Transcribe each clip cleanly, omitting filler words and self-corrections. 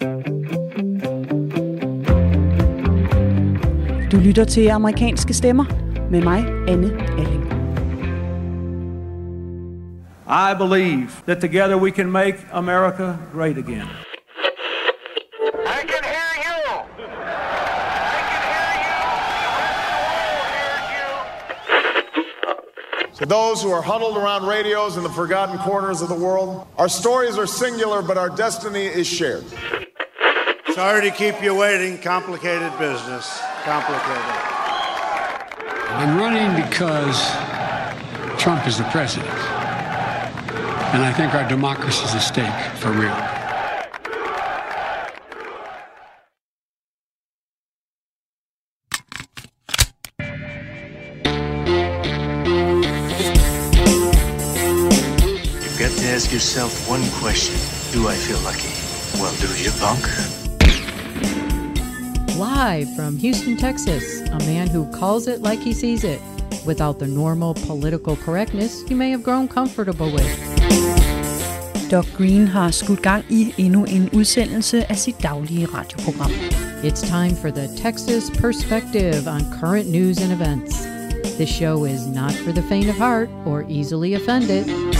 Du lytter til Amerikanske Stemmer med mig, Anne Alling. I believe that together we can make America great again. I can hear you. I can hear you. To those who are huddled around radios in the forgotten corners of the world, our stories are singular, but our destiny is shared. Sorry to keep you waiting. Complicated business. Complicated. I'm running because Trump is the president. And I think our democracy is at stake for real. You've got to ask yourself one question. Do I feel lucky? Well, do you, punk? Live from Houston, Texas, a man who calls it like he sees it, without the normal political correctness you may have grown comfortable with. Doug Green har skudt gang i endnu en udsendelse af sit daglige radioprogram. It's time for the Texas Perspective on current news and events. This show is not for the faint of heart or easily offended.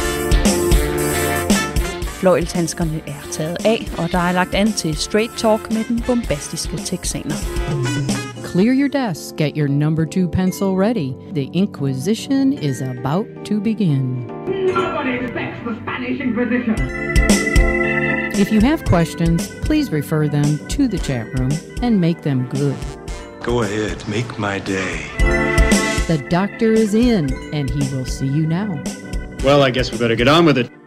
Fløjlshandskerne er taget af, og der er lagt an til straight talk med den bombastiske texaner. Clear your desk, get your number 2 pencil ready. The Inquisition is about to begin. Nobody respects the Spanish Inquisition. If you have questions, please refer them to the chat room and make them good. Go ahead, make my day. The doctor is in, and he will see you now. Well, I guess we better get on with it.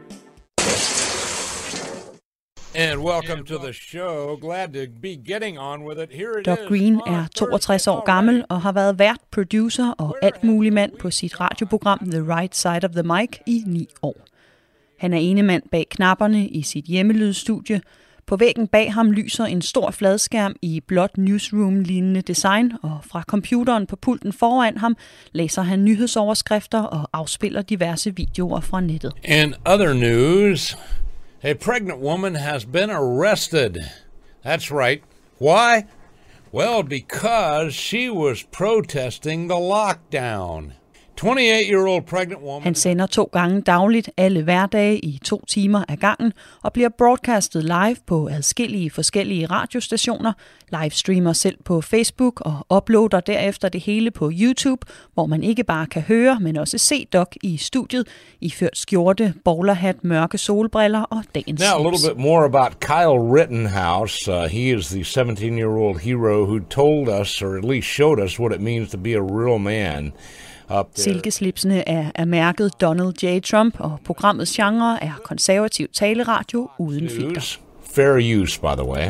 And welcome to the show. Glad to be getting on with it. Here it Doug Green er 62 år gammel og har været vært, producer og alt mulig mand på sit radioprogram The Right Side of the Mic i 9 år. Han er ene mand bag knapperne i sit hjemmelydstudie. På væggen bag ham lyser en stor fladskærm i blåt newsroom-lignende design, og fra computeren på pulten foran ham læser han nyhedsoverskrifter og afspiller diverse videoer fra nettet. In other news, a pregnant woman has been arrested. That's right. Why? Well, because she was protesting the lockdown. 28-year-old pregnant woman. Han sender 2 gange dagligt alle hverdage i 2 timer ad gangen og bliver broadcastet live på adskillige forskellige radiostationer, livestreamer selv på Facebook og uploader derefter det hele på YouTube, hvor man ikke bare kan høre, men også se Doug i studiet, iført skjorte, bowlerhat, mørke solbriller og dagens Now a little bit more about Kyle Rittenhouse. He is the 17-year-old hero who told us, or at least showed us, what it means to be a real man. Silkeslipsene er mærket Donald J. Trump, og programmets genre er konservativ taleradio uden filter. Fair use, by the way.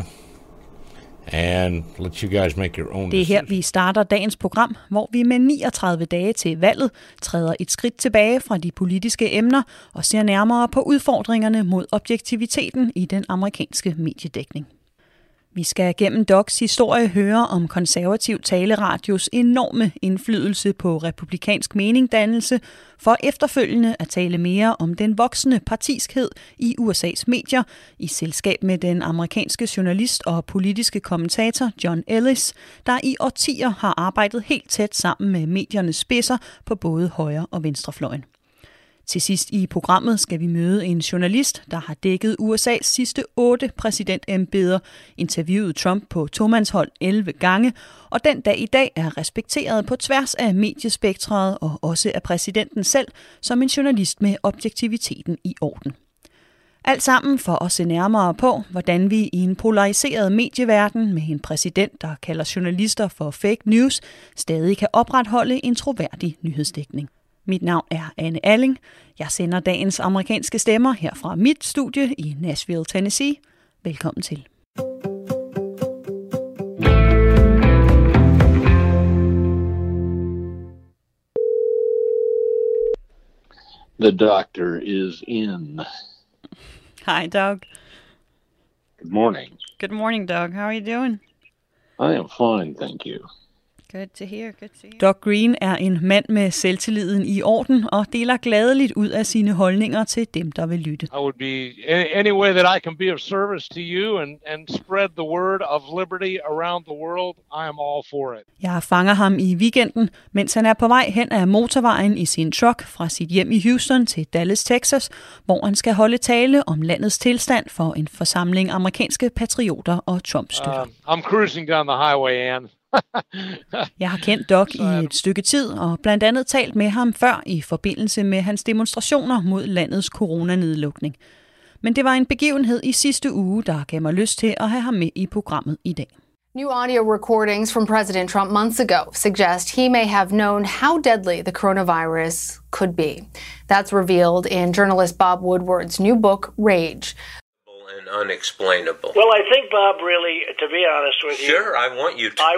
And let you guys make your own. Det er her, vi starter dagens program, hvor vi med 39 dage til valget træder et skridt tilbage fra de politiske emner og ser nærmere på udfordringerne mod objektiviteten i den amerikanske mediedækning. Vi skal gennem Dougs historie høre om konservativ taleradios enorme indflydelse på republikansk meningdannelse, for efterfølgende at tale mere om den voksende partiskhed i USA's medier, i selskab med den amerikanske journalist og politiske kommentator John Ellis, der i årtier har arbejdet helt tæt sammen med mediernes spidser på både højre- og venstrefløjen. Til sidst i programmet skal vi møde en journalist, der har dækket USA's sidste 8 præsidentembeder, interviewet Trump på tomandshold 11 gange, og den dag i dag er respekteret på tværs af mediespektret og også af præsidenten selv som en journalist med objektiviteten i orden. Alt sammen for at se nærmere på, hvordan vi i en polariseret medieverden med en præsident, der kalder journalister for fake news, stadig kan opretholde en troværdig nyhedsdækning. Mit navn er Anne Alling. Jeg sender dagens amerikanske stemmer her fra mit studie i Nashville, Tennessee. Velkommen til. The doctor is in. Hi, Doug. Good morning. Good morning, Doug. How are you doing? I am fine, thank you. Good to hear. Doug Green er en mand med selvtilliden i orden og deler gladeligt ud af sine holdninger til dem, der vil lytte. I would be any way that I can be of service to you and spread the word of liberty around the world. I am all for it. Jeg fanger ham i weekenden, mens han er på vej hen ad motorvejen i sin truck fra sit hjem i Houston til Dallas, Texas, hvor han skal holde tale om landets tilstand for en forsamling amerikanske patrioter og Trump-støtter. I'm cruising down the highway, Ann. Jeg har kendt Doug i et stykke tid og blandt andet talt med ham før i forbindelse med hans demonstrationer mod landets coronanedlukning. Men det var en begivenhed i sidste uge, der gav mig lyst til at have ham med i programmet i dag. New audio recordings from President Trump months ago suggest he may have known how deadly the coronavirus could be. That's revealed in journalist Bob Woodward's new book, Rage. Unexplainable. Well, I think, Bob, really, to be honest with you, sure, I want you to.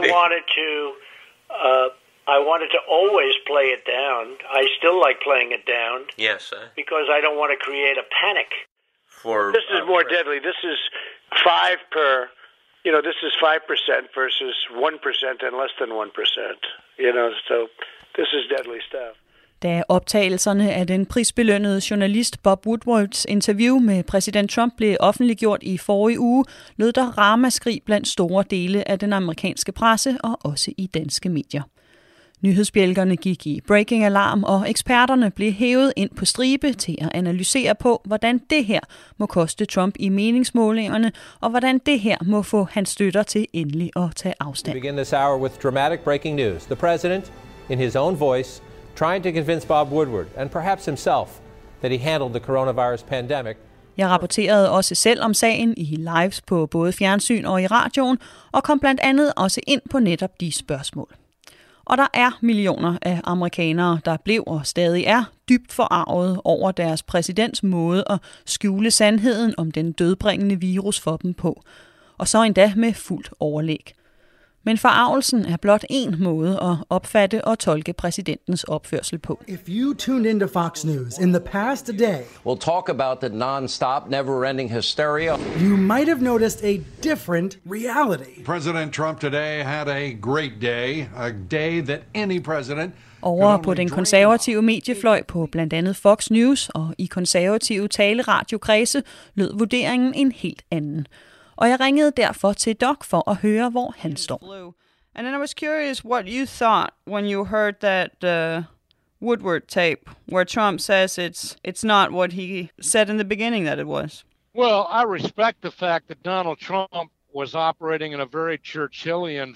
I wanted to always play it down. I still like playing it down. Yes, because I don't want to create a panic. This is more deadly. This is 5 per. This is 5% versus 1% and less than 1%. So this is deadly stuff. Da optagelserne af den prisbelønnede journalist Bob Woodwards interview med præsident Trump blev offentliggjort i forrige uge, lød der ramaskrig blandt store dele af den amerikanske presse og også i danske medier. Nyhedsbjælkerne gik i breaking alarm, og eksperterne blev hævet ind på stribe til at analysere på, hvordan det her må koste Trump i meningsmålingerne, og hvordan det her må få hans støtter til endelig at tage afstand. We begin this hour with dramatic breaking news. The president, in his own voice, trying to convince Bob Woodward, and perhaps himself, that he handled the coronavirus pandemic. Jeg rapporterede også selv om sagen i lives på både fjernsyn og i radioen, og kom blandt andet også ind på netop de spørgsmål. Og der er millioner af amerikanere, der blev og stadig er dybt forarvet over deres præsidents måde at skjule sandheden om den dødbringende virus for dem på. Og så endda med fuldt overlæg. Men forarvelsen er blot en måde at opfatte og tolke præsidentens opførsel på. If you tuned into Fox News in the past day, we'll talk about the non-stop, never-ending hysteria. You might have noticed a different reality. President Trump today had a great day, a day that any president. Over på den konservative mediefløj på blandt andet Fox News og i konservative taleradiokredse lød vurderingen en helt anden. Og jeg ringede derfor til Doug for at høre, hvor han står. And then I was curious what you thought when you heard that Woodward tape, where Trump says it's not what he said in the beginning that it was. Well, I respect the fact that Donald Trump was operating in a very Churchillian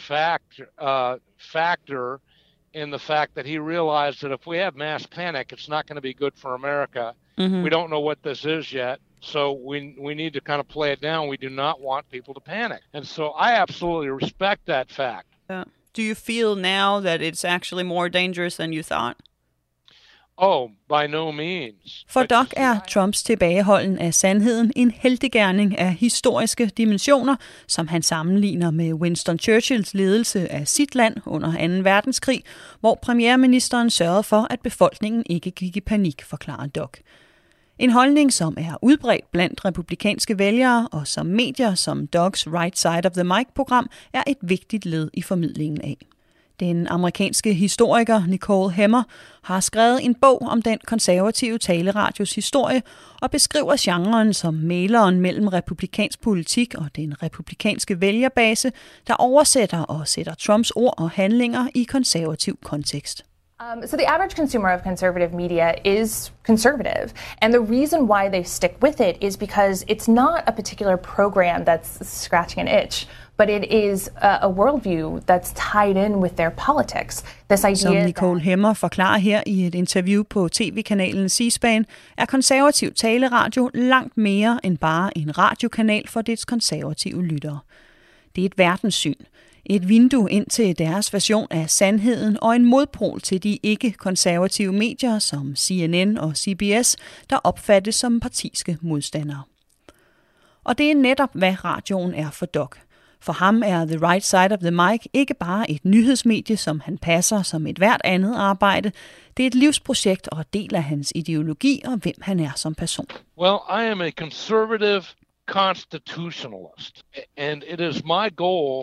factor in the fact that he realized that if we have mass panic, it's not going to be good for America. Mm-hmm. We don't know what this is yet. So we need to kind of play it down. We do not want people to panic. And so I absolutely respect that fact. Do you feel now that it's actually more dangerous than you thought? Oh, by no means. For Doug er Trumps tilbageholden af sandheden en heltegerning af historiske dimensioner, som han sammenligner med Winston Churchills ledelse af sit land under 2. verdenskrig, hvor premierministeren sørgede for, at befolkningen ikke gik i panik, forklarer Doug. En holdning, som er udbredt blandt republikanske vælgere, og som medier som Doug's Right Side of the Mic-program er et vigtigt led i formidlingen af. Den amerikanske historiker Nicole Hemmer har skrevet en bog om den konservative taleradios historie og beskriver genren som mæleren mellem republikansk politik og den republikanske vælgerbase, der oversætter og sætter Trumps ord og handlinger i konservativ kontekst. So the average consumer of conservative media is conservative. And the reason why they stick with it is because it's not a particular program that's scratching an itch, but it is a worldview that's tied in with their politics. This idea som Nicole Hemmer forklarer her i et interview på tv-kanalen C-SPAN, er konservativ taleradio langt mere end bare en radiokanal for dets konservative lyttere. Det er et verdenssyn. Et vindue ind til deres version af sandheden og en modpol til de ikke-konservative medier som CNN og CBS, der opfattes som partiske modstandere. Og det er netop, hvad radioen er for Doug. For ham er The Right Side of the Mic ikke bare et nyhedsmedie, som han passer som et hvert andet arbejde. Det er et livsprojekt og del af hans ideologi og hvem han er som person. Well, I am a conservative constitutionalist, and it is my goal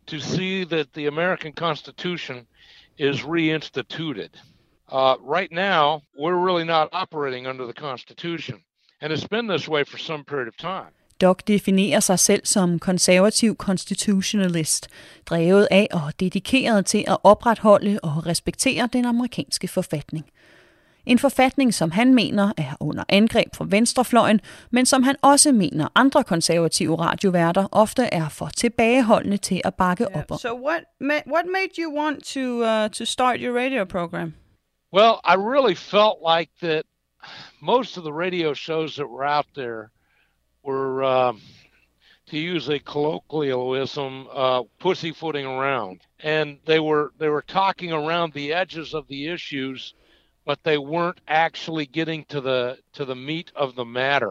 to see that the American Constitution is reinstituted. Right now, we're really not operating under the Constitution, and it's been this way for some period of time. Doc definerer sig selv som konservativ constitutionalist, drevet af og dedikeret til at opretholde og respektere den amerikanske forfatning. En forfatning, som han mener er under angreb fra venstrefløjen, men som han også mener andre konservative radioværter ofte er for tilbageholdende til at bakke op om. So what made you want to start your radio program? Well, I really felt like that most of the radio shows that were out there were, to use a colloquialism, pussyfooting around, and they were talking around the edges of the issues, but they weren't actually getting to the meat of the matter.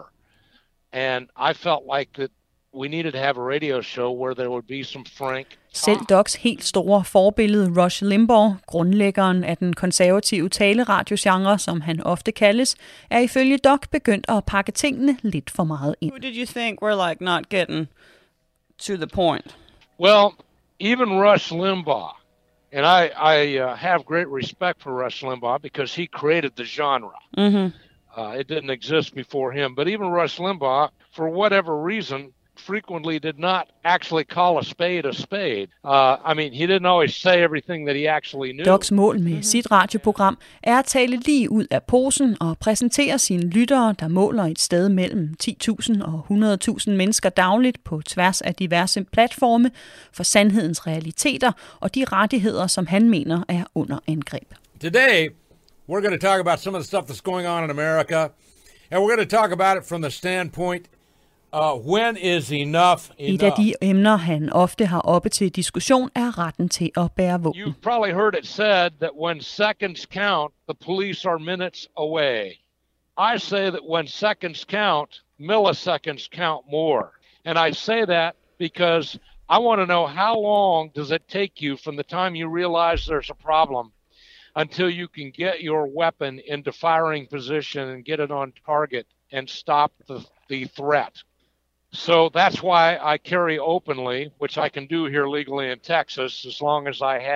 And I felt like that we needed to have a radio show where there would be some frank talk. Selv Docs helt store forbillede Rush Limbaugh, grundlæggeren af den konservative taleradiogenre, som han ofte kaldes, er ifølge Doc begyndt at pakke tingene lidt for meget ind. Who did you think were like not getting to the point? Well, even Rush Limbaugh, and I have great respect for Rush Limbaugh because he created the genre. Mm-hmm. It didn't exist before him, but even Rush Limbaugh, for whatever reason, frequently did not actually call a spade. I mean, he didn't always say everything that he actually knew. Docs mål med sit radioprogram er at tale lige ud af posen og præsentere sine lyttere, der måler et sted mellem 10.000 og 100.000 mennesker dagligt på tværs af diverse platforme for sandhedens realiteter og de rettigheder, som han mener er under angreb. Today, we're going to talk about some of the stuff that's going on in America, and we're going to talk about it from the standpoint when is enough enough? Et af de emner, han ofte har oppe til diskussion, er retten til at bære våben. You've probably heard it said that when seconds count, the police are minutes away. I say that when seconds count, milliseconds count more. And I say that because I want to know how long does it take you from the time you realize there's a problem until you can get your weapon into firing position and get it on target and stop the threat. So that's why I carry openly, which I can do here legally in Texas, as long as I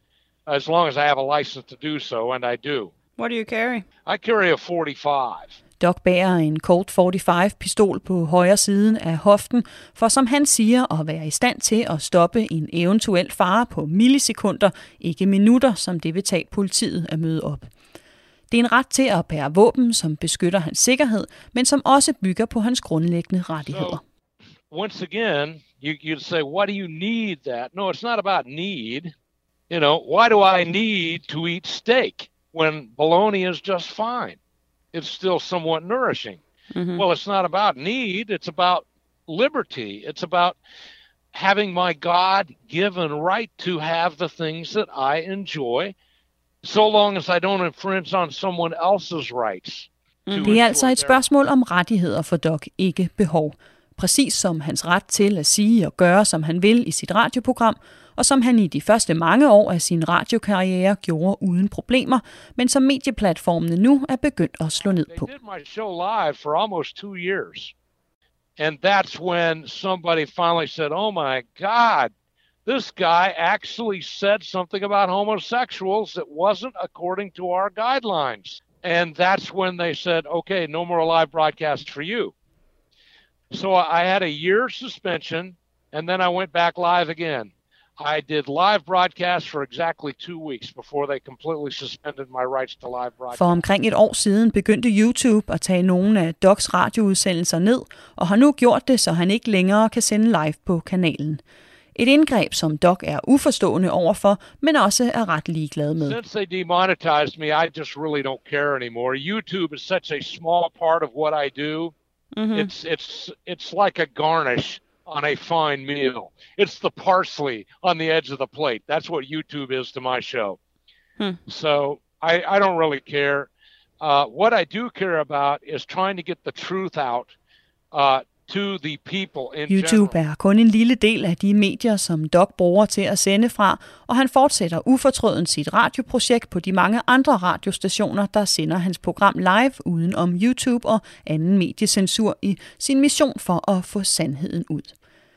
have a license to do so, and I do. What do you carry? I carry a 45. Doc bærer en Colt 45-pistol på højre siden af hoften, for som han siger, at være i stand til at stoppe en eventuel fare på millisekunder, ikke minutter, som det vil tage politiet at møde op. Det er en ret til at bære våben, som beskytter hans sikkerhed, men som også bygger på hans grundlæggende rettigheder. So, once again, you'd say, what do you need that? No, it's not about need. You know, why do I need to eat steak when bologna is just fine? It's still somewhat nourishing. Mm-hmm. Well, it's not about need. It's about liberty. It's about having my God-given right to have the things that I enjoy, so long as I don't infringe on someone else's rights. Det er altså et spørgsmål om rettigheder for Doc, ikke behov. Præcis som hans ret til at sige og gøre, som han vil i sit radioprogram, og som han i de første mange år af sin radiokarriere gjorde uden problemer, men som medieplatformene nu er begyndt at slå ned på. They did my show live for almost 2 years. And that's when somebody finally said, oh my God, this guy actually said something about homosexuals that wasn't according to our guidelines. And that's when they said, okay, no more live broadcast for you. So I had a year suspension, and then I went back live again. I did live broadcasts for exactly 2 weeks before they completely suspended my rights to live broadcast. For omkring et år siden begyndte YouTube at tage nogle af Docs radioudsendelser ned, og har nu gjort det, så han ikke længere kan sende live på kanalen. Et indgreb, som Doc er uforstående overfor, men også er ret ligeglad med. Since they demonetized me, I just really don't care anymore. YouTube is such a small part of what I do. Mm-hmm. It's like a garnish on a fine meal. It's the parsley on the edge of the plate. That's what YouTube is to my show. So I don't really care. What I do care about is trying to get the truth out to the people in YouTube er kun en lille del af de medier, som Doc bruger til at sende fra, og han fortsætter ufortrødent sit radioprojekt på de mange andre radiostationer, der sender hans program live uden om YouTube og anden mediecensur i sin mission for at få sandheden ud.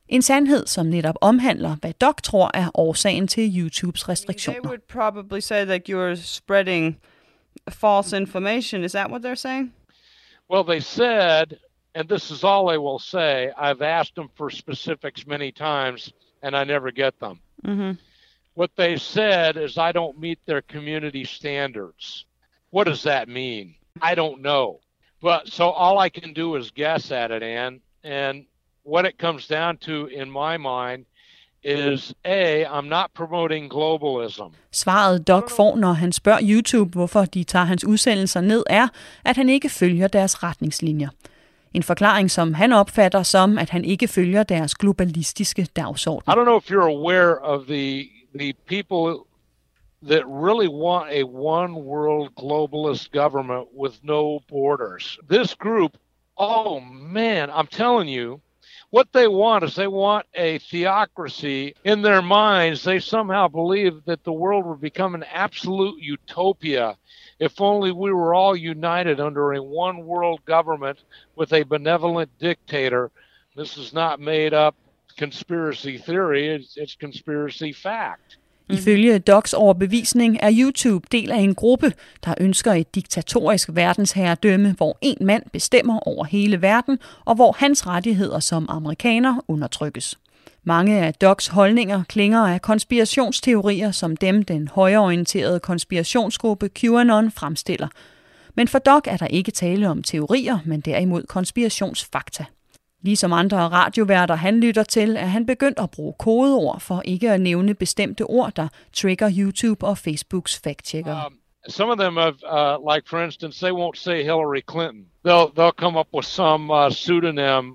En sandhed, som netop omhandler, hvad Doc tror er årsagen til YouTubes restriktioner. They would probably say that you're spreading false information. Is that what they're saying? Well, they said, and this is all they will say, I've asked them for specifics many times, and I never get them. Mm-hmm. What they said is I don't meet their community standards. What does that mean? I don't know. But so all I can do is guess at it, Ann. And what it comes down to in my mind is I'm not promoting globalism. Svaret Doc får, når han spørger YouTube, hvorfor de tager hans udsendelser ned, er, at han ikke følger deres retningslinjer. En forklaring, som han opfatter som, at han ikke følger deres globalistiske dagsorden. I don't know if you're aware of the people that really want a one world globalist government with no borders. This group, oh man, I'm telling you, what they want is they want a theocracy in their minds. They somehow believe that the world would become an absolute utopia if only we were all united under a one world government with a benevolent dictator. This is not made up conspiracy theory, it's conspiracy fact. Ifølge Docs overbevisning er YouTube del af en gruppe, der ønsker et diktatorisk verdensherredømme, hvor en mand bestemmer over hele verden, og hvor hans rettigheder som amerikaner undertrykkes. Mange af Docs holdninger klinger af konspirationsteorier, som dem den højreorienterede konspirationsgruppe QAnon fremstiller. Men for Doc er der ikke tale om teorier, men derimod konspirationsfakta. Ligesom andre radioværter han lytter til, er han begyndt at bruge kodeord for ikke at nævne bestemte ord, der trigger YouTube og Facebooks fact-checkere. Some of them have, like for instance, they won't say Hillary Clinton. They'll come up with some pseudonym,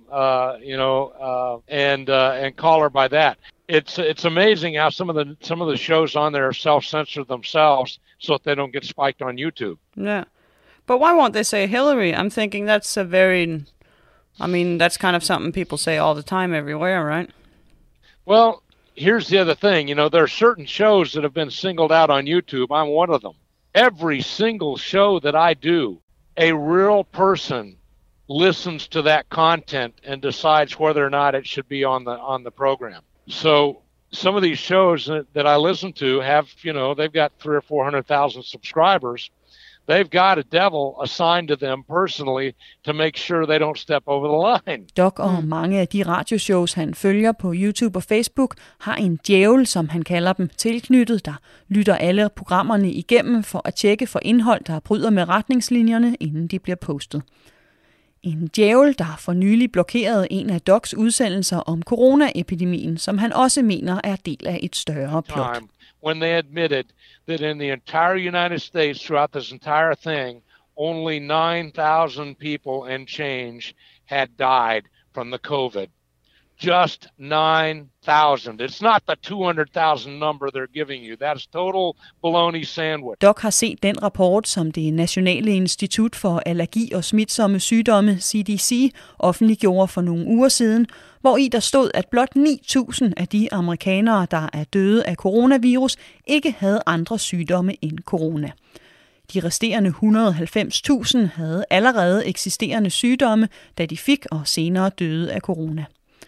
and call her by that. It's amazing how some of the shows on there self-censor themselves so that they don't get spiked on YouTube. Yeah, but why won't they say Hillary? I'm thinking that's that's kind of something people say all the time everywhere, right? Well, here's the other thing. There are certain shows that have been singled out on YouTube. I'm one of them. Every single show that I do, a real person listens to that content and decides whether or not it should be on the program. So some of these shows that I listen to have, they've got 300,000 or 400,000 subscribers. They've got a devil assigned to them personally to make sure they don't step over the line. Doc og mange af de radioshows, han følger på YouTube og Facebook, har en djævel, som han kalder dem, tilknyttet, der lytter alle programmerne igennem for at tjekke for indhold, der bryder med retningslinjerne, inden de bliver postet. En djævel, der for nylig blokerede en af Docs udsendelser om coronaepidemien, som han også mener er del af et større plot. When they admitted that in the entire United States, throughout this entire thing, only 9,000 people and change had died from the COVID. Just 9,000. It's not the 200,000 number they're giving you. That's total baloney sandwich. Doc har set den rapport, som det Nationale Institut for Allergi og Smitsomme Sygdomme, CDC, offentliggjorde for nogle uger siden, hvor i der stod, at blot 9.000 af de amerikanere, der er døde af coronavirus, ikke havde andre sygdomme end corona. De resterende 190.000 havde allerede eksisterende sygdomme, da de fik og senere døde af corona.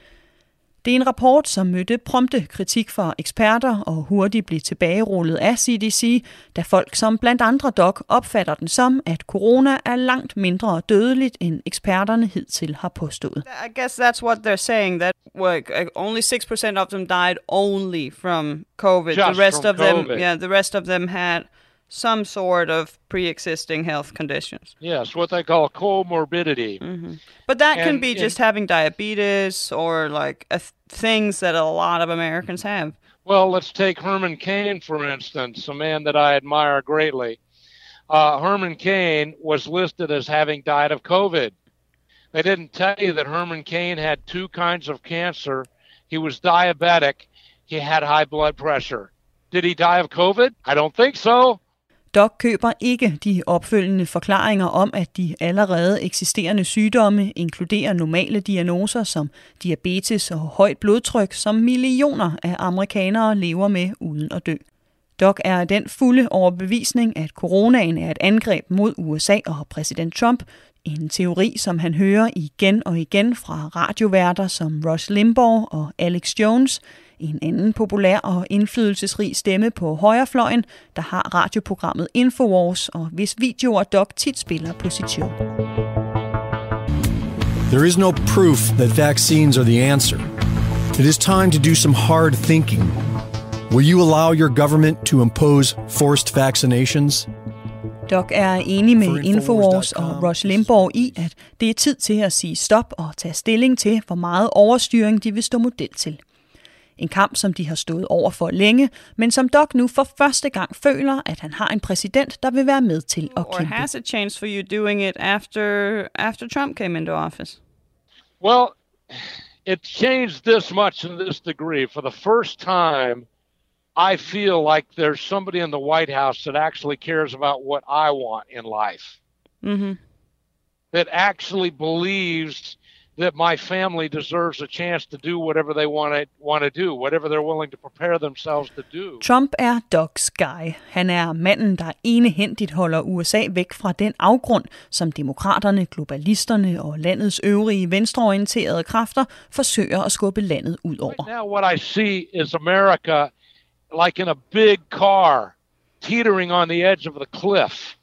Det er en rapport, som mødte prompte kritik fra eksperter og hurtigt blev tilbagerullet af CDC, da folk som blandt andre Doc opfatter den som, at corona er langt mindre dødeligt, end eksperterne hidtil har påstået. I guess that's what they're saying, that only 6% of them died only from COVID. Just the rest from of them, COVID. the rest of them had some sort of pre-existing health conditions. Yes, what they call comorbidity. Mm-hmm. But that can be just having diabetes or like things that a lot of Americans have. Well, let's take Herman Cain, for instance, a man that I admire greatly. Herman Cain was listed as having died of COVID. They didn't tell you that Herman Cain had two kinds of cancer. He was diabetic. He had high blood pressure. Did he die of COVID? I don't think so. Doc køber ikke de opfølgende forklaringer om, at de allerede eksisterende sygdomme inkluderer normale diagnoser som diabetes og højt blodtryk, som millioner af amerikanere lever med uden at dø. Doc er den fulde overbevisning, at coronaen er et angreb mod USA og præsident Trump, En teori, som han hører igen og igen fra radioværter som Rush Limbaugh og Alex Jones, en anden populær og indflydelsesrig stemme på højrefløjen, der har radioprogrammet Infowars, og hvis videoer Doc tit spiller på sit show. There is no proof that vaccines are the answer. It is time to do some hard thinking. Will you allow your government to impose forced vaccinations? Doc er enig med Infowars og Rush Limbaugh i, at det er tid til at sige stop og tage stilling til, hvor meget overstyring de vil stå model til. En kamp, som de har stået over for længe, men som Doc nu for første gang føler, at han har en præsident, der vil være med til at kæmpe. Or has it changed for you doing it after Trump came into office? Well, it changed this much in this degree. For the first time, I feel like there's somebody in the White House that actually cares about what I want in life. Mm-hmm. That actually believes that my family deserves a chance to do whatever they want to do, whatever they're willing to prepare themselves to do. Trump er Docs guy. Han er manden, der enehændigt holder USA væk fra den afgrund, som demokraterne, globalisterne og landets øvrige venstreorienterede kræfter forsøger at skubbe landet ud over. Right now what I see is America like in a big car, teetering on the edge of the cliff.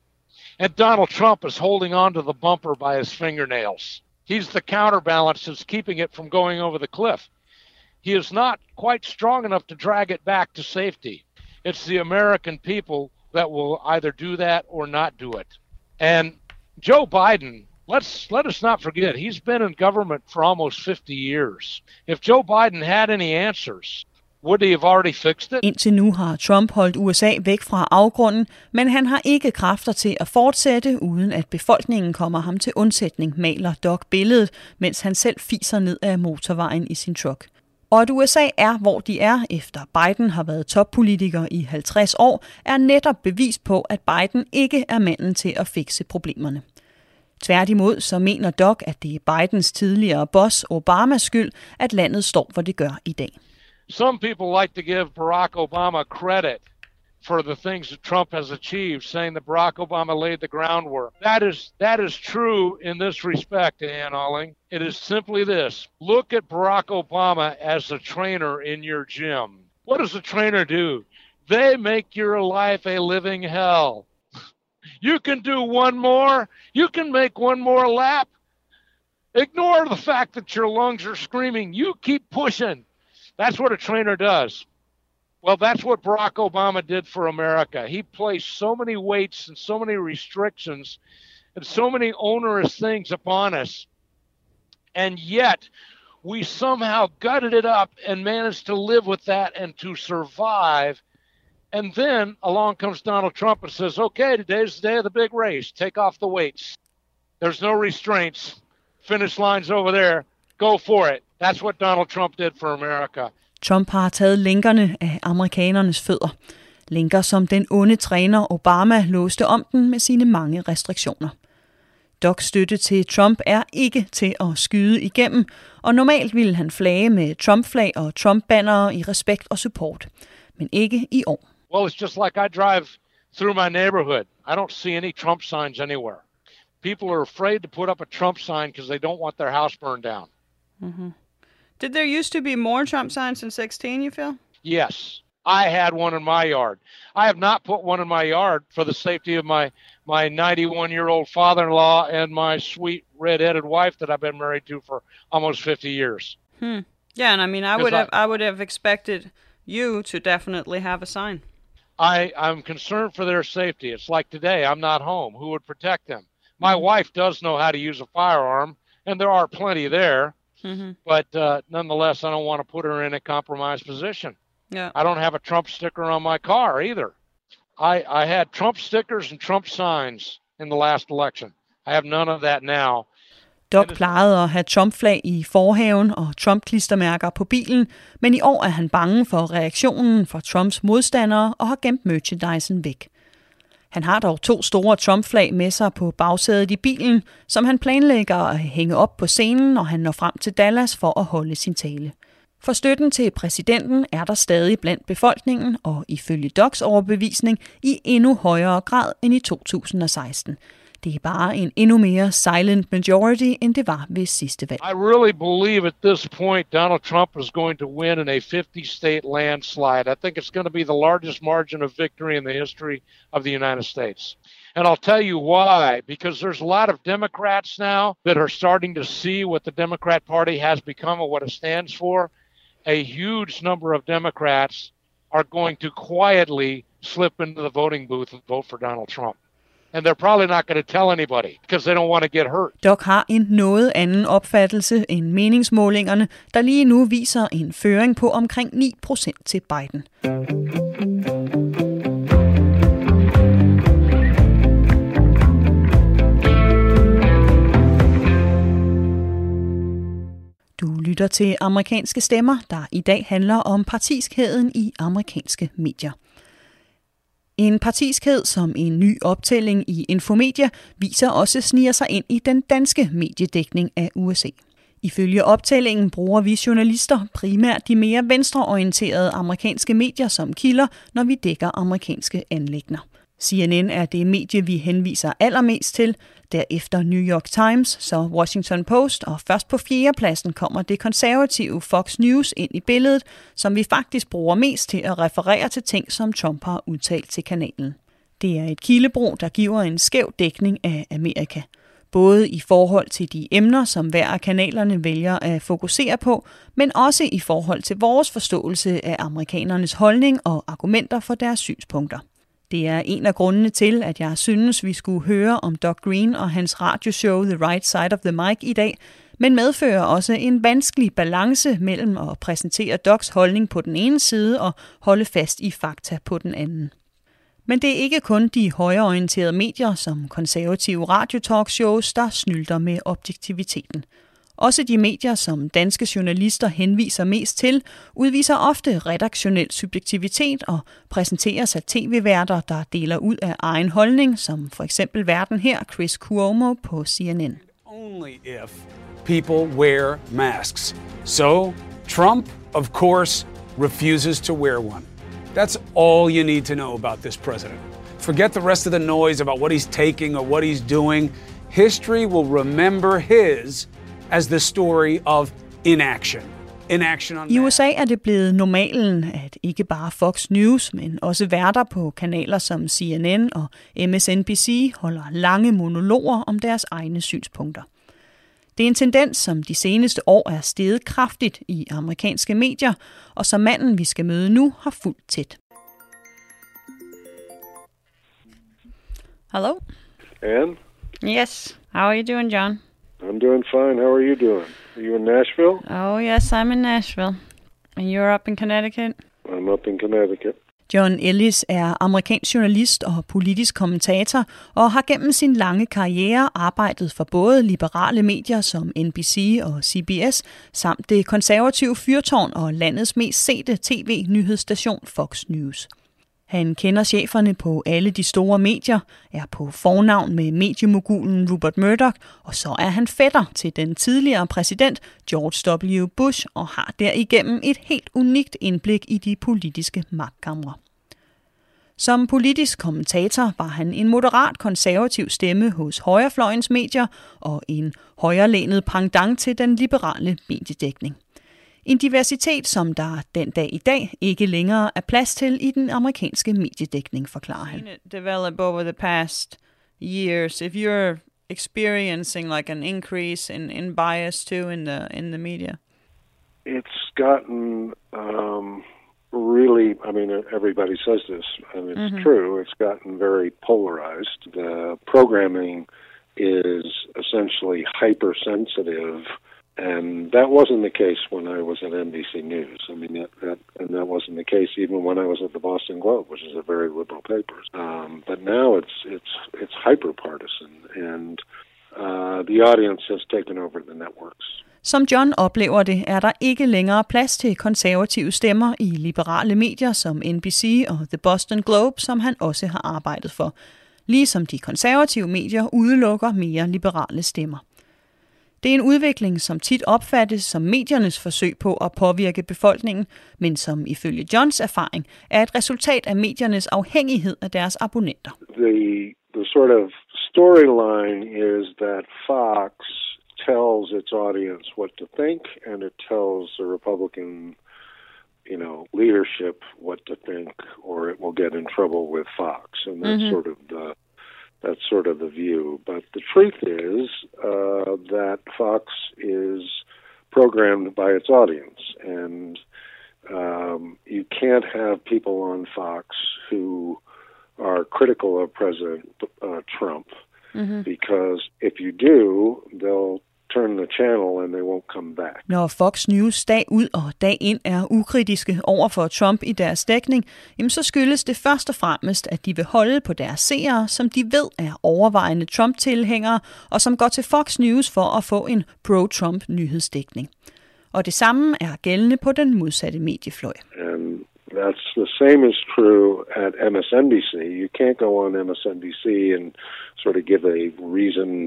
And Donald Trump is holding on to the bumper by his fingernails. He's the counterbalance that's keeping it from going over the cliff. He is not quite strong enough to drag it back to safety. It's the American people that will either do that or not do it. And Joe Biden, let us not forget, he's been in government for almost 50 years. If Joe Biden had any answers, would he have already fixed it? Indtil nu har Trump holdt USA væk fra afgrunden, men han har ikke kræfter til at fortsætte, uden at befolkningen kommer ham til undsætning, maler Doc billedet, mens han selv fiser ned ad motorvejen i sin truck. Og at USA er, hvor de er, efter Biden har været toppolitiker i 50 år, er netop bevis på, at Biden ikke er manden til at fikse problemerne. Tværtimod så mener Doc, at det er Bidens tidligere boss Obamas skyld, at landet står, hvor det gør i dag. Some people like to give Barack Obama credit for the things that Trump has achieved, saying that Barack Obama laid the groundwork. That is true in this respect, Ann Alling. It is simply this. Look at Barack Obama as a trainer in your gym. What does a trainer do? They make your life a living hell. You can do one more. You can make one more lap. Ignore the fact that your lungs are screaming. You keep pushing. That's what a trainer does. Well, that's what Barack Obama did for America. He placed so many weights and so many restrictions and so many onerous things upon us. And yet, we somehow gutted it up and managed to live with that and to survive. And then along comes Donald Trump and says, okay, today's the day of the big race. Take off the weights. There's no restraints. Finish line's over there. Go for it. That's what Donald Trump did for America. Trump har taget lænkerne af amerikanernes fødder. Lænker, som den onde træner Obama låste om den med sine mange restriktioner. Docs støtte til Trump er ikke til at skyde igennem, og normalt ville han flage med Trump-flag og Trump-bannere i respekt og support. Men ikke i år. Well, it's just like I drive through my neighborhood. I don't see any Trump signs anywhere. People are afraid to put up a Trump sign because they don't want their house burned down. Mm-hmm. Did there used to be more Trump signs in 16, you feel? Yes. I had one in my yard. I have not put one in my yard for the safety of my 91-year-old father-in-law and my sweet red-headed wife that I've been married to for almost 50 years. Yeah, and I mean, I would have expected you to definitely have a sign. I'm concerned for their safety. It's like today, I'm not home. Who would protect them? My wife does know how to use a firearm, and there are plenty there. Mm-hmm. But nonetheless, I don't want to put her in a compromised position. Yeah. I don't have a Trump sticker on my car either. I had Trump stickers and Trump signs in the last election. I have none of that now. Doc plejede at have Trump-flag i forhaven og Trump-klistermærker på bilen, men i år er han bange for reaktionen fra Trumps modstandere og har gemt merchandisen væk. Han har dog 2 store Trump-flag med sig på bagsædet i bilen, som han planlægger at hænge op på scenen, når han når frem til Dallas for at holde sin tale. For støtten til præsidenten er der stadig blandt befolkningen, og ifølge Docs overbevisning i endnu højere grad end i 2016. Det er bare en endnu mere silent majority, end det var ved sidste valg. I really believe at this point Donald Trump is going to win in a 50-state landslide. I think it's going to be the largest margin of victory in the history of the United States. And I'll tell you why, because there's a lot of Democrats now that are starting to see what the Democrat Party has become and what it stands for. A huge number of Democrats are going to quietly slip into the voting booth and vote for Donald Trump. And they're probably not going to tell anybody because they don't want to get hurt. Doc har en noget anden opfattelse end meningsmålingerne, der lige nu viser en føring på omkring 9% til Biden. Du lytter til Amerikanske Stemmer, der i dag handler om partiskheden i amerikanske medier. En partiskhed, som en ny optælling i Infomedia viser også sniger sig ind i den danske mediedækning af USA. Ifølge optællingen bruger vi journalister primært de mere venstreorienterede amerikanske medier som kilder, når vi dækker amerikanske anliggender. CNN er det medie, vi henviser allermest til, derefter New York Times, så Washington Post, og først på 4. pladsen kommer det konservative Fox News ind i billedet, som vi faktisk bruger mest til at referere til ting, som Trump har udtalt til kanalen. Det er et kildebrug, der giver en skæv dækning af Amerika. Både i forhold til de emner, som hver af kanalerne vælger at fokusere på, men også i forhold til vores forståelse af amerikanernes holdning og argumenter for deres synspunkter. Det er en af grundene til, at jeg synes, vi skulle høre om Doug Green og hans radioshow The Right Side of the Mic i dag, men medfører også en vanskelig balance mellem at præsentere Dougs holdning på den ene side og holde fast i fakta på den anden. Men det er ikke kun de højreorienterede medier som konservative radiotalkshows, der snylter med objektiviteten. Også de medier, som danske journalister henviser mest til, udviser ofte redaktionel subjektivitet og præsenteres af tv-værter, der deler ud af egen holdning, som for eksempel værten her, Chris Cuomo på CNN. Only if people wear masks. So, Trump, of course, refuses to wear one. That's all you need to know about this president. Forget the rest of the noise about what he's taking or what he's doing. History will remember his as the story of inaction. I USA er det blevet normalen, at ikke bare Fox News, men også værter på kanaler som CNN og MSNBC holder lange monologer om deres egne synspunkter. Det er en tendens, som de seneste år er steget kraftigt i amerikanske medier, og som manden, vi skal møde nu, har fulgt tæt. Hello? Ann? Yes. How are you doing, John? I'm doing fine. How are you doing? Are you in Nashville? Oh, yes, I'm in Nashville. And you're up in Connecticut? I'm up in Connecticut. John Ellis er amerikansk journalist og politisk kommentator, og har gennem sin lange karriere arbejdet for både liberale medier som NBC og CBS, samt det konservative fyrtårn og landets mest sete tv-nyhedsstation Fox News. Han kender cheferne på alle de store medier, er på fornavn med mediemogulen Rupert Murdoch, og så er han fætter til den tidligere præsident George W. Bush og har derigennem et helt unikt indblik i de politiske magtkamre. Som politisk kommentator var han en moderat konservativ stemme hos højrefløjens medier og en højrelænet pendant til den liberale mediedækning. En diversitet, som der den dag i dag ikke længere er plads til i den amerikanske mediedækning, forklarer han. Develop over the past years, if you're experiencing like an increase in bias too in the media. It's gotten really, I mean, everybody says this, and it's true. It's gotten very polarized. The programming is essentially hypersensitive. And that wasn't the case when I was at NBC News. I mean, that wasn't the case even when I was at the Boston Globe, which is a very liberal paper. But now it's hyper-partisan, and the audience has taken over the networks. Som John oplever det, er der ikke længere plads til konservative stemmer i liberale medier som NBC og The Boston Globe, som han også har arbejdet for. Ligesom de konservative medier udelukker mere liberale stemmer. Det er en udvikling, som tit opfattes som mediernes forsøg på at påvirke befolkningen, men som ifølge Johns erfaring er et resultat af mediernes afhængighed af deres abonnenter. The sort of storyline is that Fox tells its audience what to think, and it tells the Republican, leadership what to think, or it will get in trouble with Fox, and that's sort of the view. But the truth is that Fox is programmed by its audience, and you can't have people on Fox who are critical of President Trump, because if you do, they'll turn the channel and they won't come back. Når Fox News dag ud og dag ind er ukritiske over for Trump i deres dækning, jamen så skyldes det først og fremmest, at de vil holde på deres seere, som de ved er overvejende Trump-tilhængere, og som går til Fox News for at få en pro-Trump nyhedsdækning. Og det samme er gældende på den modsatte mediefløj. And that's the same is true at MSNBC. You can't go on MSNBC and sort of give a reasoned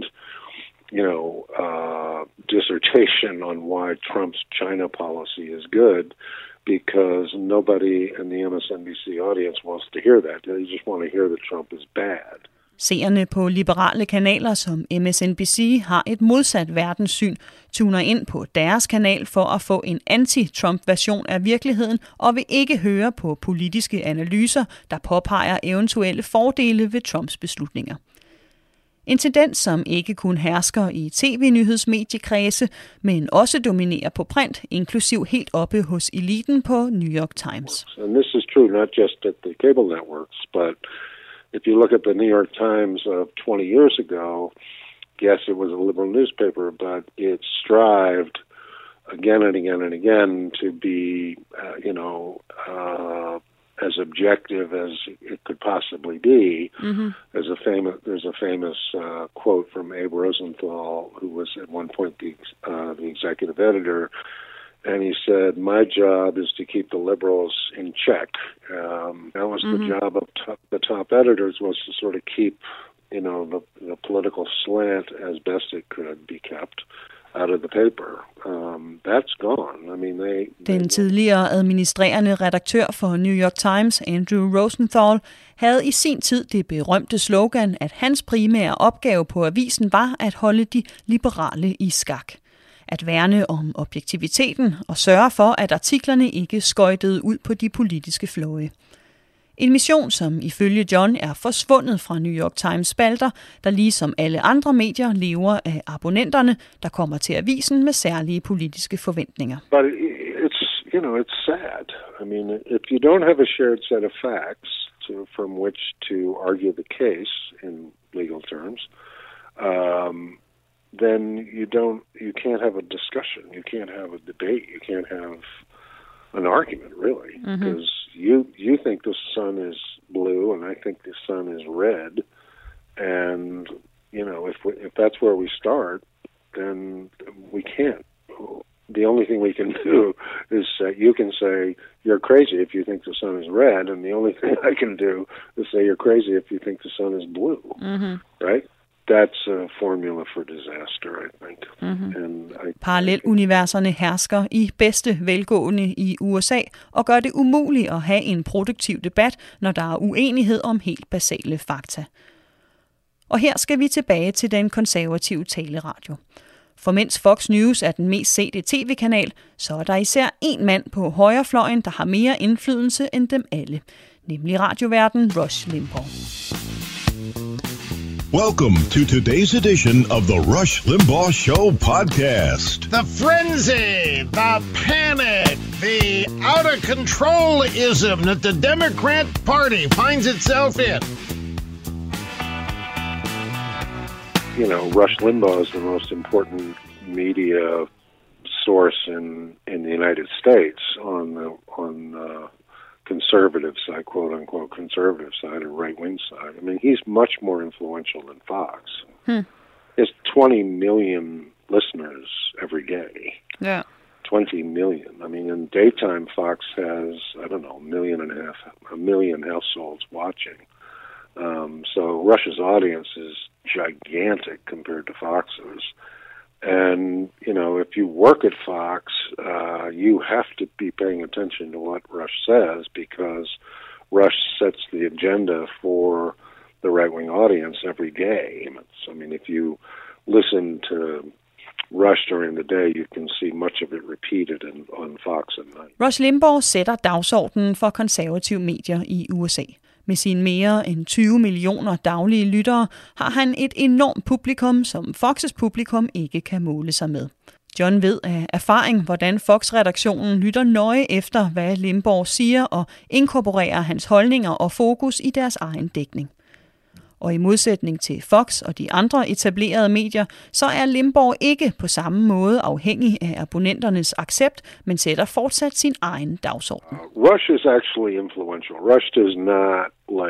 dissertation on why Trump's China policy is good, because nobody in the MSNBC audience wants to hear that. They just want to hear that Trump is bad. Seerne på liberale kanaler som MSNBC har et modsat verdenssyn, tuner ind på deres kanal for at få en anti-Trump-version af virkeligheden og vil ikke høre på politiske analyser, der påpeger eventuelle fordele ved Trumps beslutninger. En tendens, som ikke kun hersker i tv-nyhedsmediekredse, men også dominerer på print, inklusiv helt oppe hos eliten på New York Times. And this is true not just at the cable networks, but if you look at the New York Times of 20 years ago, yes, it was a liberal newspaper, but it strived again and again and again to be, as objective as it could possibly be. There's a famous quote from Abe Rosenthal, who was at one point the executive editor, and he said, "My job is to keep the liberals in check." That was the job of the top editors, was to sort of keep, the political slant as best it could be kept out of the paper. That's gone. I mean, Den tidligere administrerende redaktør for New York Times, Andrew Rosenthal, havde i sin tid det berømte slogan, at hans primære opgave på avisen var at holde de liberale i skak. At værne om objektiviteten og sørge for, at artiklerne ikke skøjtede ud på de politiske fløje. En mission, som ifølge John er forsvundet fra New York Times spalter, der ligesom alle andre medier lever af abonnenterne, der kommer til avisen med særlige politiske forventninger. But it's sad. I mean, if you don't have a shared set of facts from which to argue the case in legal terms, then you can't have a discussion, you can't have a debate, you can't have an argument, really, because you think the sun is blue and I think the sun is red, and if that's where we start, then we can't. The only thing we can do is you can say you're crazy if you think the sun is red, and the only thing I can do is say you're crazy if you think the sun is blue, right? That's a formula for disaster, I think. Paralleluniverserne hersker i bedste velgående i USA og gør det umuligt at have en produktiv debat, når der er uenighed om helt basale fakta. Og her skal vi tilbage til den konservative taleradio. For mens Fox News er den mest sete tv-kanal, så er der især en mand på højrefløjen, der har mere indflydelse end dem alle, nemlig radioværten Rush Limbaugh. Welcome to today's edition of the Rush Limbaugh Show podcast. The frenzy, the panic, the out-of-control-ism that the Democrat Party finds itself in. Rush Limbaugh is the most important media source in the United States on the conservative side, quote-unquote conservative side, or right-wing side. I mean, he's much more influential than Fox. There's 20 million listeners every day. Yeah. 20 million. I mean, in daytime, Fox has, I don't know, a million households watching. So Rush's audience is gigantic compared to Fox's. And, if you work at Fox, you have to be paying attention to what Rush says, because Rush sets the agenda for the right-wing audience every day. I mean, if you listen to Rush during the day, you can see much of it repeated on Fox at night. Rush Limbaugh sætter dagsordenen for konservative medier i USA. Med sine mere end 20 millioner daglige lyttere har han et enormt publikum, som Fox's publikum ikke kan måle sig med. John ved af erfaring, hvordan Fox-redaktionen lytter nøje efter, hvad Limbaugh siger, og inkorporerer hans holdninger og fokus i deres egen dækning. Og i modsætning til Fox og de andre etablerede medier, så er Limbaugh ikke på samme måde afhængig af abonnenternes accept, men sætter fortsat sin egen dagsorden. Rush is actually influential. Rush does not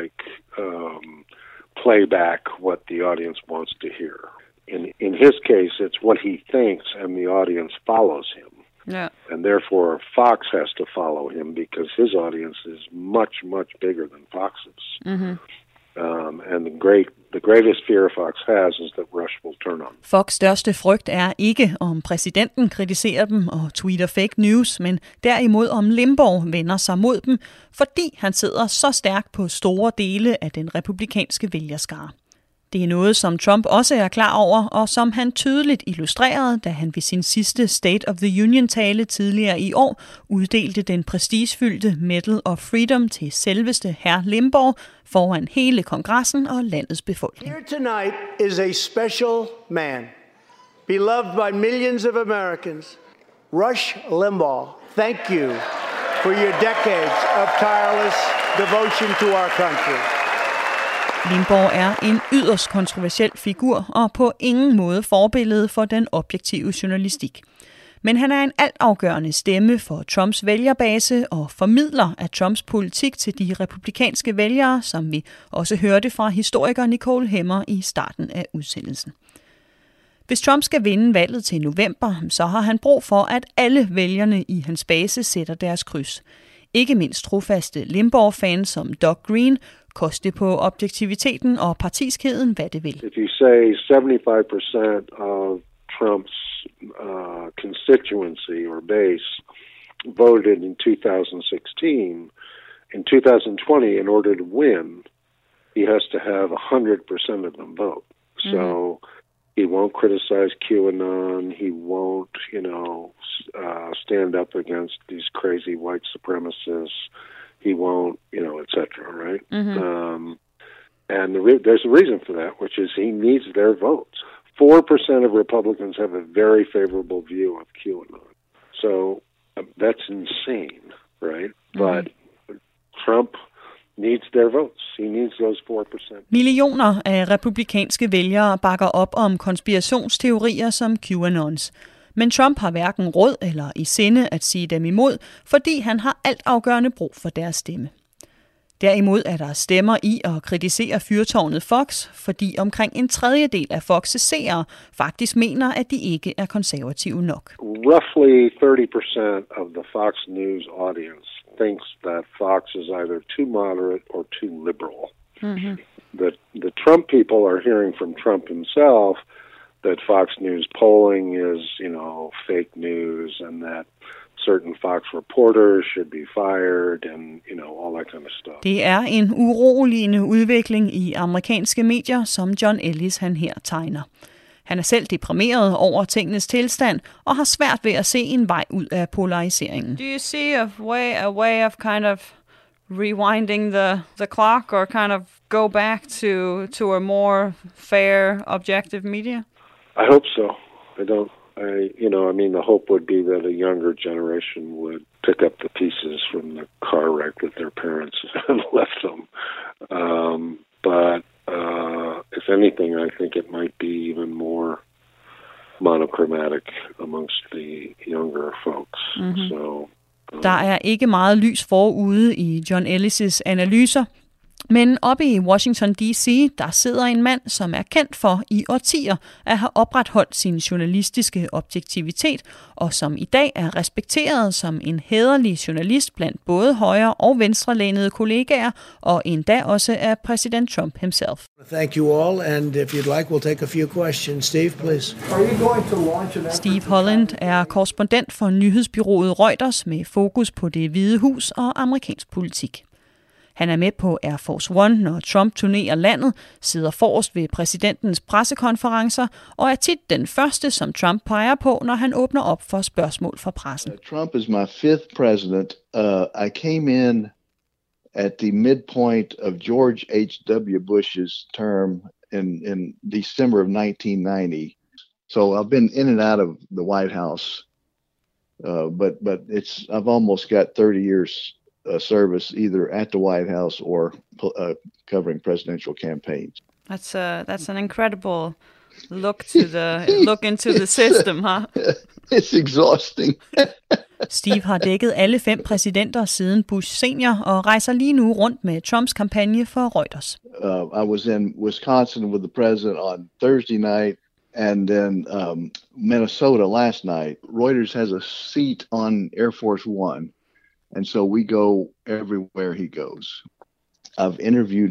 play back what the audience wants to hear. In his case, it's what he thinks, and the audience follows him. Yeah. And therefore, Fox has to follow him because his audience is much, much bigger than Fox's. Mm-hmm. And the greatest fear Fox has is that Rush will turn on. Fox' største frygt er ikke, om præsidenten kritiserer dem og tweeter fake news, men derimod om Limbaugh vender sig mod dem, fordi han sidder så stærkt på store dele af den republikanske vælgerskare. Det er noget, som Trump også er klar over, og som han tydeligt illustrerede, da han ved sin sidste State of the Union-tale tidligere i år uddelte den prestigefyldte Medal of Freedom til selveste hr. Limbaugh foran hele kongressen og landets befolkning. Here tonight is a special man, beloved by millions of Americans, Rush Limbaugh. Thank you for your decades of tireless devotion to our country. Limbaugh er en yderst kontroversiel figur og på ingen måde forbillede for den objektive journalistik. Men han er en altafgørende stemme for Trumps vælgerbase og formidler af Trumps politik til de republikanske vælgere, som vi også hørte fra historiker Nicole Hemmer i starten af udsendelsen. Hvis Trump skal vinde valget til november, så har han brug for, at alle vælgerne i hans base sætter deres kryds. Ikke mindst trofaste Limbaugh-fans som Doug Green, koste på objektiviteten og partiskheden, hvad det vil. If you say 75% of Trump's constituency or base voted in 2016, in 2020, in order to win, he has to have 100% of them vote. So he won't criticize QAnon. He won't, stand up against these crazy white supremacists. He won't, et cetera, right? Mm-hmm. And there's a reason for that, which is he needs their votes. 4% of Republicans have a very favorable view of QAnon. So that's insane, right? Mm-hmm. But Trump needs their votes. He needs those 4%. Millioner af republikanske vælgere bakker op om konspirationsteorier som QAnons. Men Trump har hverken råd eller i sinde at sige dem imod, fordi han har altafgørende brug for deres stemme. Derimod er der stemmer i at kritisere fyrtårnet Fox, fordi omkring en tredjedel af Fox's seere faktisk mener, at de ikke er konservative nok. Roughly 30% of the Fox News audience thinks that Fox is either too moderate or too liberal. Mm-hmm. The Trump people are hearing from Trump himself that Fox News polling is, fake news, and that certain Fox reporters should be fired, and, all that kind of stuff. Det er en uroligende udvikling i amerikanske medier, som John Ellis han her tegner. Han er selv deprimeret over tingenes tilstand og har svært ved at se en vej ud af polariseringen. Do you see a way of kind of rewinding the clock, or kind of go back to a more fair, objective media? I hope so. The hope would be that a younger generation would pick up the pieces from the car wreck that their parents had left them. But if anything, I think it might be even more monochromatic amongst the younger folks. Mm-hmm. So, der er ikke meget lys forude i John Ellis' analyser, men oppe i Washington D.C., der sidder en mand, som er kendt for i årtier at have opretholdt sin journalistiske objektivitet, og som i dag er respekteret som en hæderlig journalist blandt både højre- og venstrelænede kollegaer, og endda også af præsident Trump himself. Thank you all, and if you'd like, we'll take a few questions. Steve, please. Are you going to launch an Steve Holland er korrespondent for nyhedsbyrået Reuters med fokus på Det Hvide Hus og amerikansk politik. Han er med på Air Force One, når Trump turnerer landet, sidder forrest ved præsidentens pressekonferencer og er tit den første, som Trump peger på, når han åbner op for spørgsmål fra pressen. Trump is my fifth president. I came in at the midpoint of George H.W. Bush's term in December of 1990. So I've been in and out of the White House, but I've almost got 30 years service either at the White House or covering presidential campaigns. That's an incredible look into the system, huh? It's exhausting. Steve har dækket alle 5 præsidenter siden Bush senior og rejser lige nu rundt med Trumps kampagne for Reuters. I was in Wisconsin with the president on Thursday night, and then Minnesota last night. Reuters has a seat on Air Force One, and so we go everywhere he goes. I interviewed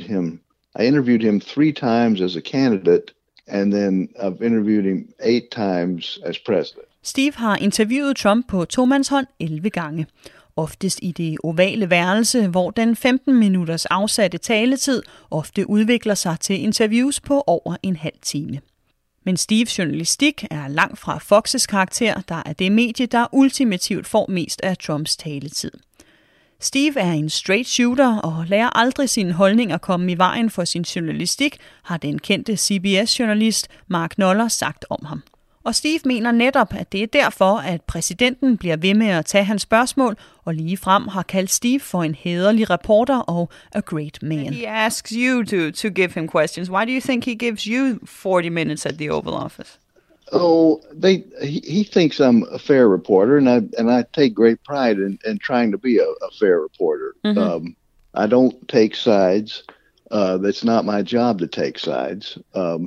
him 3 times as a candidate, and then I've interviewed him 8 times as president. Steve har interviewet Trump på tomandshånd 11 gange. Oftest i det ovale værelse, hvor den 15 minutters afsatte taletid ofte udvikler sig til interviews på over en halv time. Men Steves journalistik er langt fra Fox's karakter, der er det medie, der ultimativt får mest af Trumps taletid. Steve er en straight shooter og lader aldrig sine holdninger komme i vejen for sin journalistik, har den kendte CBS-journalist Mark Knoller sagt om ham. Og Steve mener netop, at det er derfor, at præsidenten bliver ved med at tage hans spørgsmål, og ligefrem har kaldt Steve for en hæderlig reporter og a great man. He asks you to give him questions. Why do you think he gives you 40 minutes at the Oval Office? Oh, he thinks I'm a fair reporter, and I take great pride in trying to be a fair reporter. Mm-hmm. I don't take sides. That's not my job to take sides.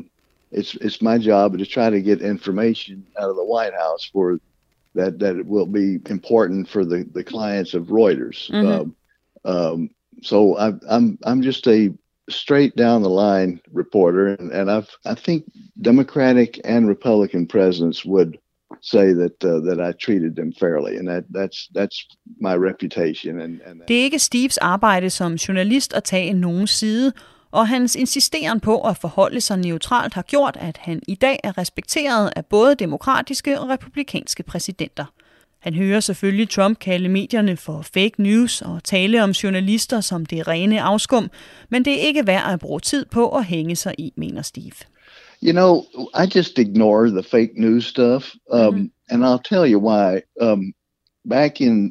It's my job to try to get information out of the White House for that it will be important for the clients of Reuters. Mm-hmm. So I'm just a straight down the line reporter, and I think Democratic and Republican presidents would say that I treated them fairly, and that's my reputation. And det er ikke Steves arbejde som journalist at tage nogens side, og hans insisteren på at forholde sig neutralt har gjort, at han i dag er respekteret af både demokratiske og republikanske præsidenter. Han hører selvfølgelig Trump kalde medierne for fake news og tale om journalister som det rene afskum, men det er ikke værd at bruge tid på at hænge sig i, mener Steve. You know, I just ignore the fake news stuff, and I'll tell you why. Back in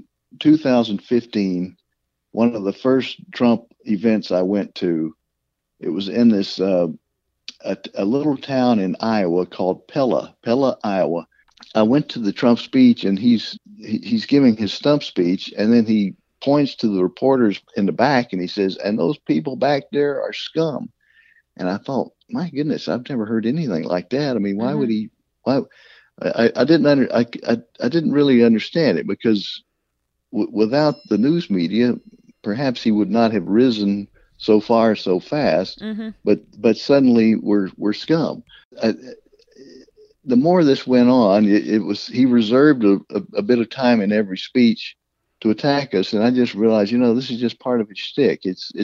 2015, one of the first Trump events I went to, it was in this a little town in Iowa called Pella, Iowa. I went to the Trump speech, and he's giving his stump speech, and then he points to the reporters in the back, and he says, "And those people back there are scum." And I thought, my goodness, I've never heard anything like that. I mean, why would he? Why? I didn't really understand it, because without the news media, perhaps he would not have risen so far so fast. Mm-hmm. But suddenly we're scum. The more this went on, he reserved a bit of time in every speech to attack us, and I just realized, this is just part of his shtick.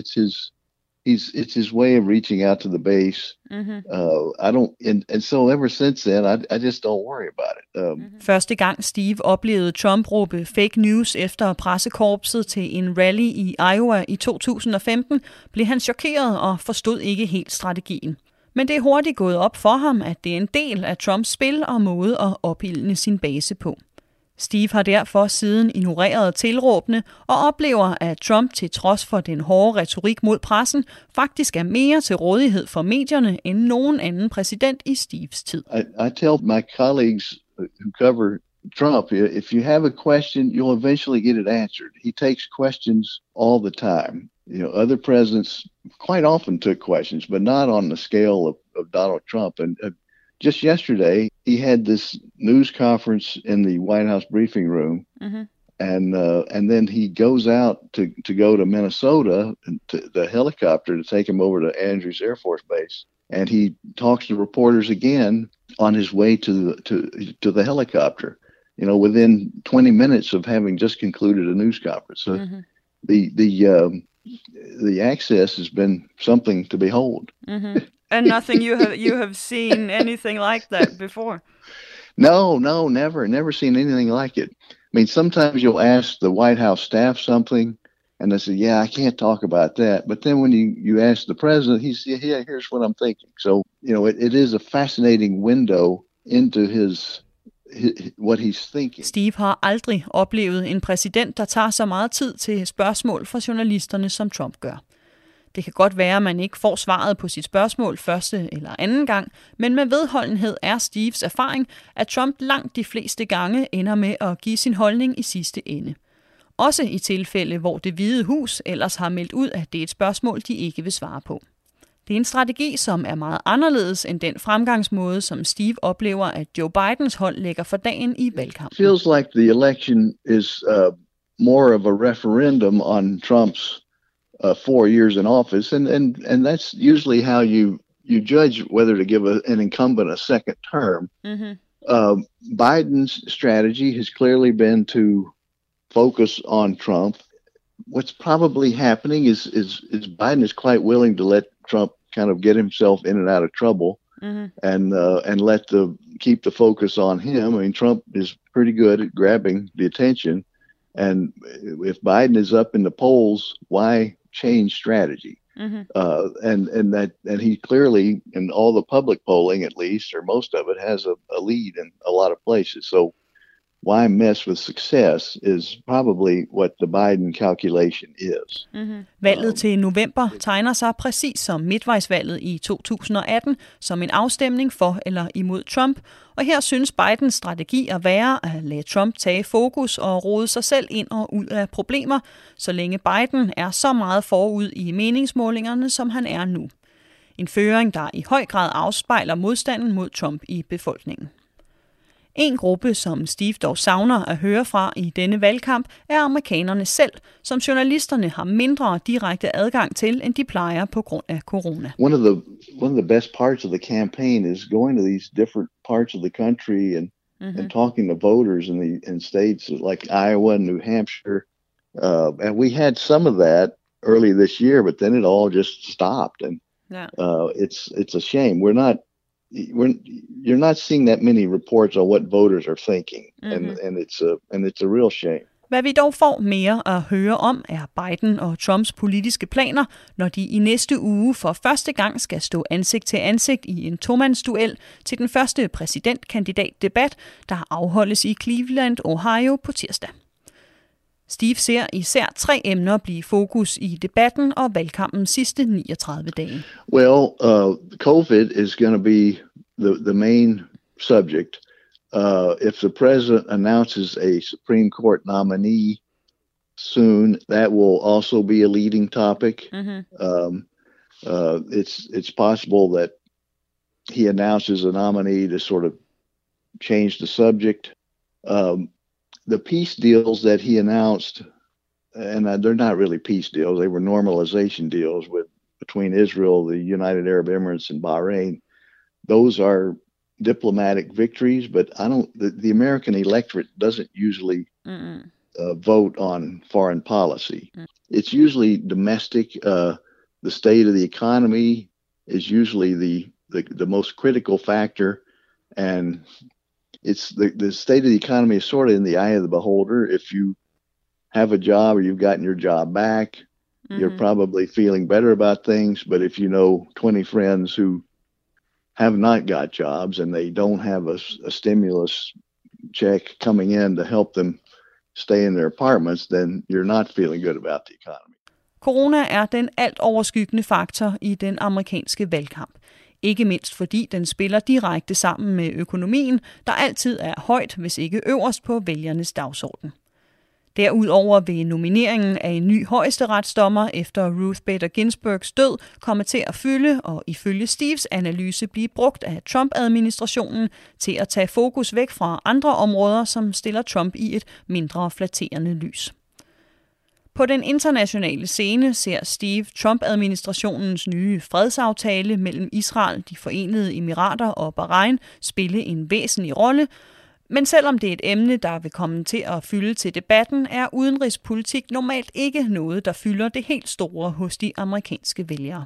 It's his way of reaching out to the base. Mm-hmm. And so ever since then, I just don't worry about it. Første gang Steve oplevede Trump råbe fake news efter pressekorpset til en rally i Iowa i 2015, blev han chokeret og forstod ikke helt strategien. Men det er hurtigt gået op for ham, at det er en del af Trumps spil og måde at opildne sin base på. Steve har derfor siden ignoreret tilråbene og oplever, at Trump til trods for den hårde retorik mod pressen, faktisk er mere til rådighed for medierne end nogen anden præsident i Steves tid. I tell my colleagues who cover Trump, if you have a question, you'll eventually get it answered. He takes questions all the time. Other presidents quite often took questions, but not on the scale of Donald Trump. And just yesterday, he had this news conference in the White House briefing room, mm-hmm. And then he goes out to go to Minnesota, to the helicopter to take him over to Andrews Air Force Base, and he talks to reporters again on his way to the helicopter. Within 20 minutes of having just concluded a news conference. So mm-hmm. the access has been something to behold. Mm-hmm. And nothing you have seen anything like that before? No, never seen anything like it. I mean, sometimes you'll ask the White House staff something, and they say, "Yeah, I can't talk about that." But then when you ask the president, he says, "Yeah, here's what I'm thinking." So, it is a fascinating window into what he's thinking. Steve har aldrig oplevet en præsident, der tager så meget tid til spørgsmål fra journalisterne, som Trump gør. Det kan godt være, at man ikke får svaret på sit spørgsmål første eller anden gang, men med vedholdenhed er Steves erfaring, at Trump langt de fleste gange ender med at give sin holdning i sidste ende. Også i tilfælde, hvor Det Hvide Hus ellers har meldt ud, at det er et spørgsmål, de ikke vil svare på. Det er en strategi, som er meget anderledes end den fremgangsmåde, som Steve oplever, at Joe Bidens hold lægger for dagen i valgkampen. It feels like the election is more of a referendum on Trump's 4 years in office, and that's usually how you judge whether to give an incumbent a second term. Mm-hmm. Biden's strategy has clearly been to focus on Trump. What's probably happening is Biden is quite willing to let Trump kind of get himself in and out of trouble, mm-hmm. and keep the focus on him. I mean, Trump is pretty good at grabbing the attention, and if Biden is up in the polls, why change strategy? Mm-hmm. And he clearly, in all the public polling at least, or most of it, has a lead in a lot of places. So why mess with success is probably what the Biden calculation is. Mm-hmm. Valget til november tegner sig præcis som midtvejsvalget i 2018 som en afstemning for eller imod Trump, og her synes Bidens strategi at være at lade Trump tage fokus og rode sig selv ind og ud af problemer, så længe Biden er så meget forud i meningsmålingerne, som han er nu. En føring, der i høj grad afspejler modstanden mod Trump i befolkningen. En gruppe, som Steve dog savner at høre fra i denne valgkamp, er amerikanerne selv, som journalisterne har mindre direkte adgang til, end de plejer på grund af corona. One of the best parts of the campaign is going to these different parts of the country and talking to voters in states like Iowa and New Hampshire. And we had some of that early this year, but then it all just stopped, and it's a shame. You're not seeing that many reports on what voters are thinking, and it's a real shame. Hvad vi dog får mere at høre om, er Biden og Trumps politiske planer, når de i næste uge for første gang skal stå ansigt til ansigt i en tomandsduel til den første præsidentkandidatdebat, der afholdes i Cleveland, Ohio på tirsdag. Steve ser især 3 emner blive fokus i debatten og valgkampens sidste 39 dage. Well, COVID is going to be the main subject. If the president announces a Supreme Court nominee soon, that will also be a leading topic. Mm-hmm. It's possible that he announces a nominee to sort of change the subject. The peace deals that he announced, and they're not really peace deals, they were normalization deals between Israel, the United Arab Emirates, and Bahrain. Those are diplomatic victories, but the American electorate doesn't usually vote on foreign policy. It's usually domestic. The state of the economy is usually the most critical factor, and it's the state of the economy is sort of in the eye of the beholder. If you have a job or you've gotten your job back, you're probably feeling better about things. But if you know 20 friends who have not got jobs and they don't have a stimulus check coming in to help them stay in their apartments, then you're not feeling good about the economy. Corona er den alt overskyggende faktor i den amerikanske valgkamp. Ikke mindst fordi den spiller direkte sammen med økonomien, der altid er højt, hvis ikke øverst på vælgernes dagsorden. Derudover vil nomineringen af en ny højesteretsdommer efter Ruth Bader Ginsburgs død komme til at fylde og ifølge Steves analyse blive brugt af Trump-administrationen til at tage fokus væk fra andre områder, som stiller Trump i et mindre flatterende lys. På den internationale scene ser Steve Trump-administrationens nye fredsaftale mellem Israel, de Forenede Emirater og Bahrain spille en væsentlig rolle, Men selvom det er et emne, der vil komme til at fylde til debatten, er udenrigspolitik normalt ikke noget, der fylder det helt store hos de amerikanske vælgere.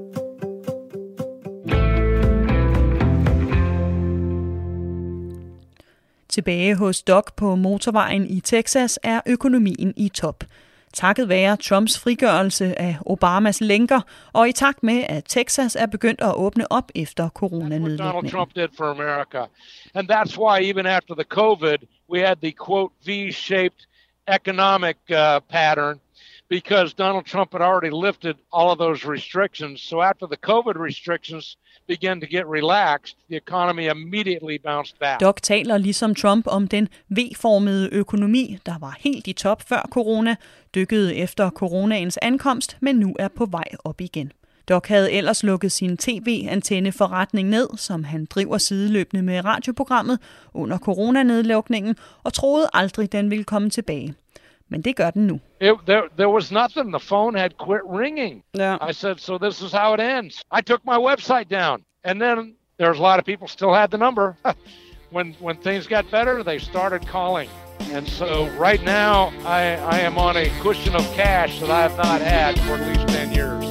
Tilbage hos Doc på motorvejen i Texas er økonomien i top. Takket være Trumps frigørelse af Obamas lænker, og i takt med, at Texas er begyndt at åbne op efter coronanedlukningen. Donald Trump did for America. And that's why even after the COVID, we had the quote V-shaped economic pattern, because Donald Trump had already lifted all of those restrictions. So after the COVID restrictions began to get relaxed, the economy immediately bounced back. Doc taler ligesom Trump om den V-formede økonomi, der var helt i top før corona, dykkede efter coronaens ankomst, men nu er på vej op igen. Doc havde ellers lukket sin tv-antenneforretning ned, som han driver sideløbende med radioprogrammet under coronanedlukningen, og troede aldrig, den ville komme tilbage. Men det gør den nu. There was nothing. The phone had quit ringing. Yeah. I said, so this is how it ends. I took my website down. And then there's a lot of people still had the number. When things got better, they started calling. And so right now, I am on a cushion of cash that I have not had for at least 10 years.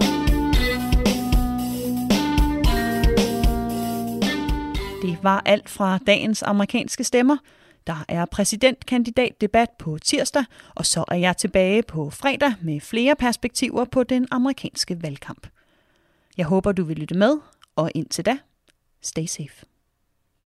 Det var alt fra dagens amerikanske stemmer. Der er præsidentkandidatdebat på tirsdag, og så er jeg tilbage på fredag med flere perspektiver på den amerikanske valgkamp. Jeg håber, du vil lytte med, og indtil da, stay safe.